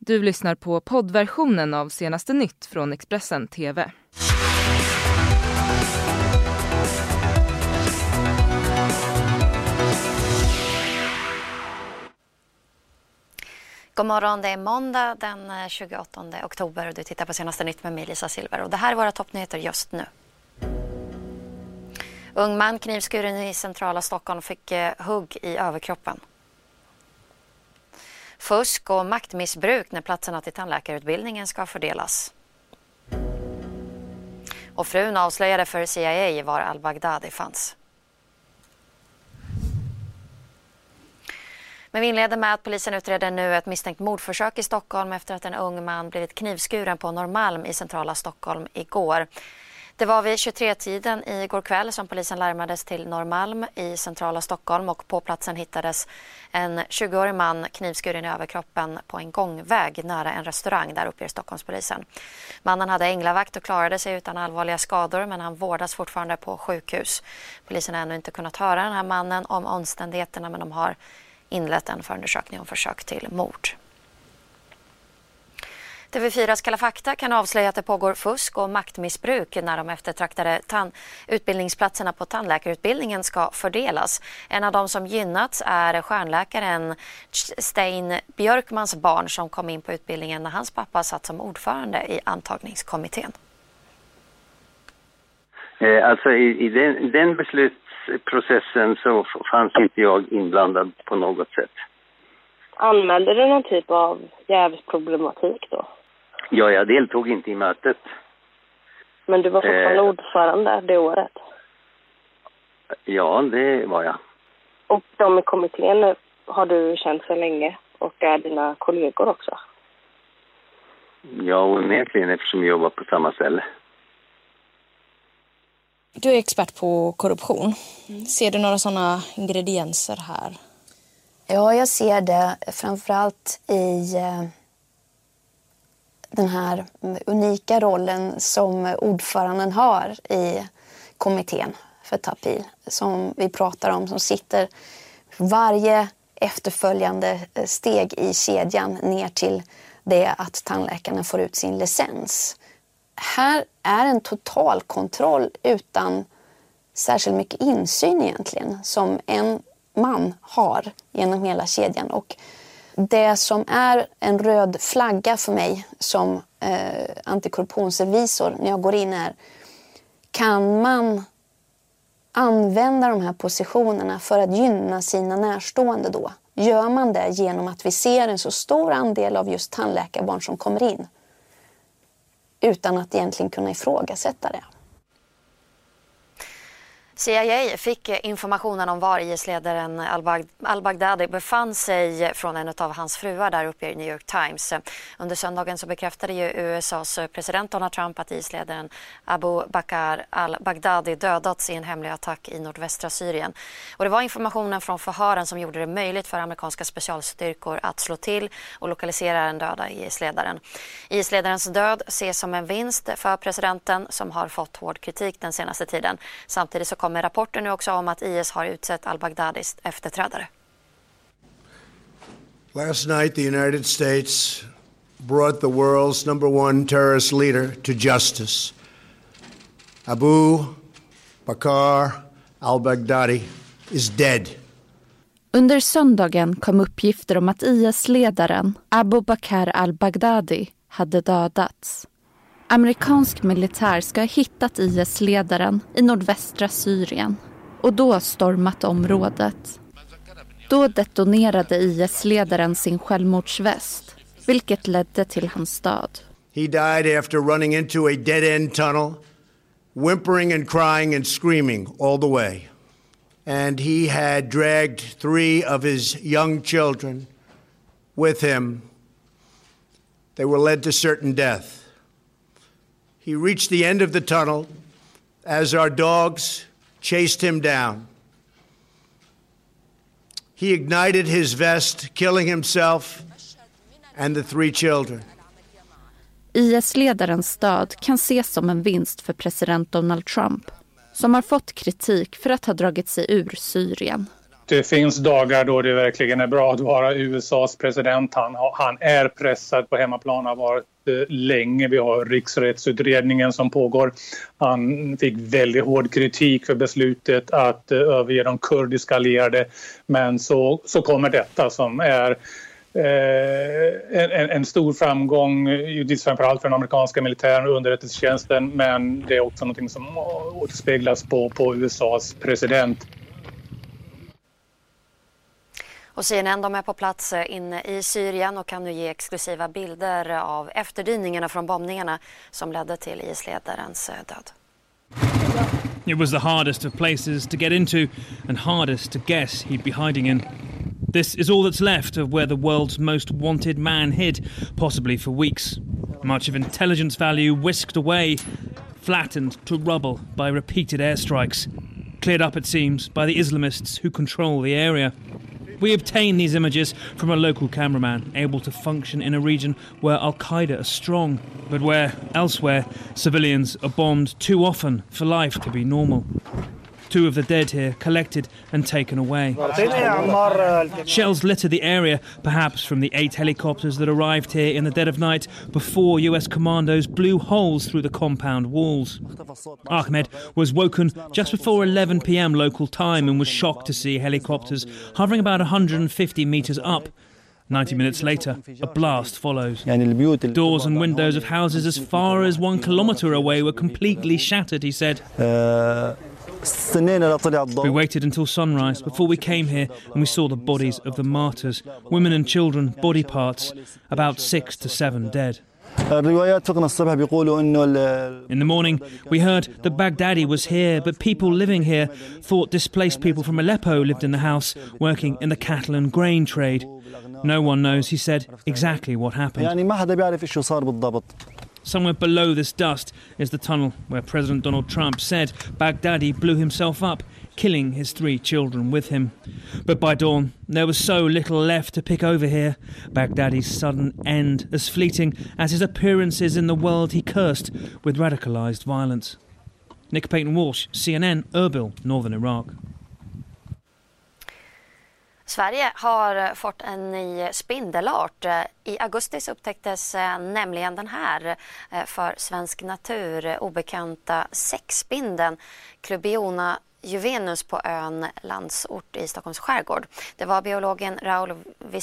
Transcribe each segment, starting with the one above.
Du lyssnar på poddversionen av Senaste Nytt från Expressen TV. God morgon, det är måndag den 28 oktober och du tittar på Senaste Nytt med mig, Lisa Silver. Och det här är våra toppnyheter just nu. Ung man knivskuren i centrala Stockholm fick hugg i överkroppen. Fusk och maktmissbruk när platserna till tandläkarutbildningen ska fördelas. Och frun avslöjade för CIA var al-Baghdadi fanns. Men vi inleder med att polisen utreder nu ett misstänkt mordförsök i Stockholm efter att en ung man blivit knivskuren på Norrmalm i centrala Stockholm igår. Det var vid 23-tiden igår kväll som polisen larmades till Norrmalm i centrala Stockholm och på platsen hittades en 20-årig man knivskuren i överkroppen på en gångväg nära en restaurang där uppe i Stockholmspolisen. Mannen hade änglavakt och klarade sig utan allvarliga skador men han vårdas fortfarande på sjukhus. Polisen har ännu inte kunnat höra den här mannen om omständigheterna men de har inlett en förundersökning om försök till mord. TV4s Kalla fakta kan avslöja att det pågår fusk och maktmissbruk när de eftertraktade utbildningsplatserna på tandläkarutbildningen ska fördelas. En av de som gynnats är stjärnläkaren Stein Björkmans barn som kom in på utbildningen när hans pappa satt som ordförande i antagningskommittén. Alltså i den beslutsprocessen så fanns inte jag inblandad på något sätt. Anmälde du någon typ av jävsproblematik då? Ja, jag deltog inte i mötet. Men du var fortfarande ordförande det året? Ja, det var jag. Och de i kommittén har du känt så länge och är dina kollegor också? Ja, onekligen eftersom vi jobbar på samma ställe. Du är expert på korruption. Ser du några sådana ingredienser här? Ja, jag ser det framförallt i den här unika rollen som ordföranden har i kommittén för Tapil. Som vi pratar om, som sitter varje efterföljande steg i kedjan ner till det att tandläkarna får ut sin licens. Här är en total kontroll utan särskilt mycket insyn egentligen som en man har genom hela kedjan. Och det som är en röd flagga för mig som antikorruptionsrevisor när jag går in är, kan man använda de här positionerna för att gynna sina närstående då? Gör man det genom att vi ser en så stor andel av just tandläkarbarn som kommer in utan att egentligen kunna ifrågasätta det? CIA fick informationen om var IS-ledaren al-Baghdadi befann sig från en av hans fruar där uppe i New York Times. Under söndagen så bekräftade ju USAs president Donald Trump att IS-ledaren Abu Bakr al-Baghdadi dödats i en hemlig attack i nordvästra Syrien. Och det var informationen från förhören som gjorde det möjligt för amerikanska specialstyrkor att slå till och lokalisera den döda IS-ledaren. IS-ledarens död ses som en vinst för presidenten som har fått hård kritik den senaste tiden. Samtidigt så kommer rapporten nu också om att IS har utsett al-Baghdadis efterträdare. Last night the United States brought the world's #1 terrorist leader to justice. Abu Bakr al-Baghdadi is dead. Under söndagen kom uppgifter om att IS-ledaren Abu Bakr al-Baghdadi hade dödats. Amerikansk militär ska ha hittat IS-ledaren i nordvästra Syrien och då stormat området. Då detonerade IS-ledaren sin självmordsväst, vilket ledde till hans död. He died after running into a dead-end tunnel, whimpering and crying and screaming all the way. And he had dragged 3 of his young children with him. They were led to certain death. He reached the end of the tunnel as our dogs chased him down. He ignited his vest, killing himself and the 3 children. IS-ledarens död kan ses som en vinst för president Donald Trump, som har fått kritik för att ha dragit sig ur Syrien. det finns dagar då det verkligen är bra att vara USAs president. Han är pressad på hemmaplan, har varit länge. Vi har riksrättsutredningen som pågår. Han fick väldigt hård kritik för beslutet att överge de kurdiska allierade. Men så kommer detta som är en stor framgång, framförallt för den amerikanska militären och underrättelsetjänsten, men det är också något som återspeglas på USAs president. Och CNN, de är på plats inne i Syrien och kan nu ge exklusiva bilder av efterdyningarna från bombningarna som ledde till IS-ledarens död. It was the hardest of places to get into and hardest to guess he'd be hiding in. This is all that's left of where the world's most wanted man hid, possibly for weeks. Much of intelligence value whisked away, flattened to rubble by repeated airstrikes. Cleared up, it seems, by the Islamists who control the area. We obtained these images from a local cameraman, able to function in a region where Al-Qaeda are strong, but where, elsewhere, civilians are bombed too often for life to be normal. 2 of the dead here collected and taken away. Shells litter the area, perhaps from the 8 helicopters that arrived here in the dead of night before US commandos blew holes through the compound walls. Ahmed was woken just before 11 p.m. local time and was shocked to see helicopters hovering about 150 meters up. 90 minutes later, a blast follows. Doors and windows of houses as far as 1 kilometre away were completely shattered, he said. We waited until sunrise before we came here and we saw the bodies of the martyrs, women and children, body parts, about 6 to 7 dead. In the morning, we heard that Baghdadi was here, but people living here thought displaced people from Aleppo lived in the house, working in the cattle and grain trade. No one knows, he said, exactly what happened. Somewhere below this dust is the tunnel where President Donald Trump said Baghdadi blew himself up, killing his 3 children with him. But by dawn, there was so little left to pick over here. Baghdadi's sudden end as fleeting as his appearances in the world he cursed with radicalised violence. Nick Payton-Walsh, CNN, Erbil, Northern Iraq. Sverige har fått en ny spindelart. I augusti upptäcktes nämligen den här för svensk natur obekanta säckspindeln Clubiona juvenus på ön Landsort i Stockholms skärgård. Det var biologen Raoul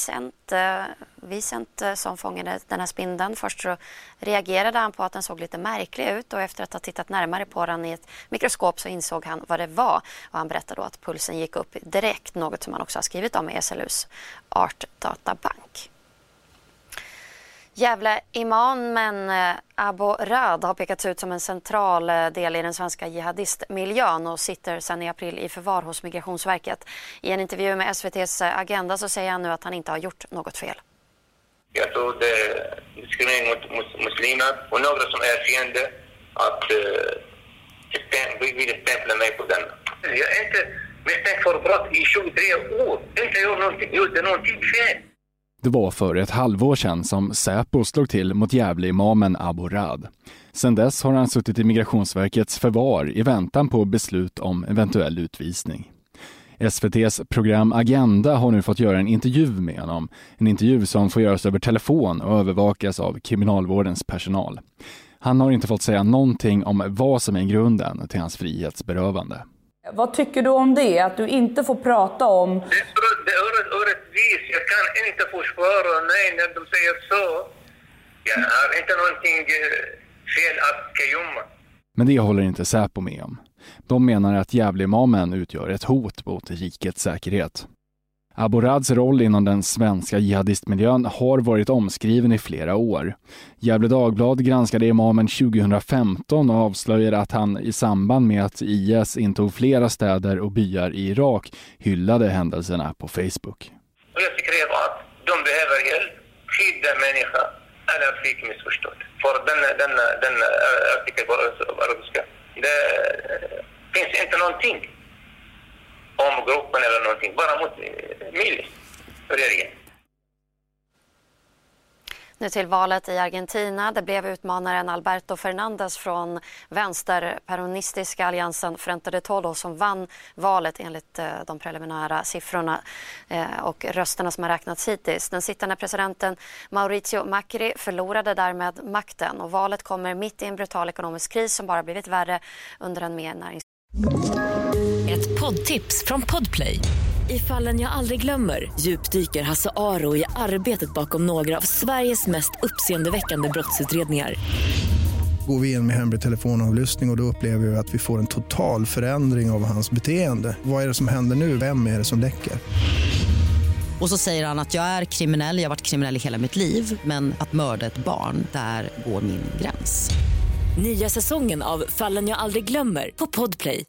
Vicent som fångade den här spindeln. Först så reagerade han på att den såg lite märklig ut och efter att ha tittat närmare på den i ett mikroskop så insåg han vad det var. Och han berättade då att pulsen gick upp direkt, något som han också har skrivit om i SLUs artdatabank. Gävle-imamen Abu Rad har pekats ut som en central del i den svenska jihadistmiljön och sitter sedan i april i förvar hos Migrationsverket. I en intervju med SVT:s Agenda så säger han nu att han inte har gjort något fel. Jag tror det är diskriminering mot muslimer och några som är fiende att vill stämpla mig på den. Jag är inte misstänkt för brott i 23 år. Inte gjorde någonting fel. Det var för ett halvår sedan som Säpo slog till mot Gävle-imamen Abu Rad. Sedan dess har han suttit i Migrationsverkets förvar i väntan på beslut om eventuell utvisning. SVT:s program Agenda har nu fått göra en intervju med honom. En intervju som får göras över telefon och övervakas av kriminalvårdens personal. Han har inte fått säga någonting om vad som är grunden till hans frihetsberövande. Vad tycker du om det? Att du inte får prata om... Det är orättvis. Jag kan inte försvara. Nej, när de säger så. Jag har inte någonting fel att gömma. Men det håller inte Säpo med om. De menar att Gävle-imamen utgör ett hot mot rikets säkerhet. Abu Rads roll inom den svenska jihadistmiljön har varit omskriven i flera år. Gävle Dagblad granskade imamen 2015 och avslöjade att han i samband med att IS intog flera städer och byar i Irak hyllade händelserna på Facebook. Och jag tycker att de behöver hjälp, skydda människa eller fick missförstått. För den artikel på arabiska, det finns inte någonting om gruppen eller någonting, bara mot milis för regeringen. Nu till valet i Argentina. Det blev utmanaren Alberto Fernández från vänsterperonistiska alliansen Frente de Todos som vann valet enligt de preliminära siffrorna och rösterna som har räknats hittills. Den sittande presidenten Mauricio Macri förlorade därmed makten och valet kommer mitt i en brutal ekonomisk kris som bara blivit värre under en mer Ett poddtips från Podplay. I Fallen jag aldrig glömmer djupdyker Hasse Aro i arbetet bakom några av Sveriges mest uppseendeväckande brottsutredningar. Går vi in med hemlig telefonavlyssning och då upplever vi att vi får en total förändring av hans beteende. Vad är det som händer nu? Vem är det som läcker? Och så säger han att jag är kriminell, jag har varit kriminell i hela mitt liv. Men att mörda ett barn, där går min gräns. Nya säsongen av Fallen jag aldrig glömmer på Podplay.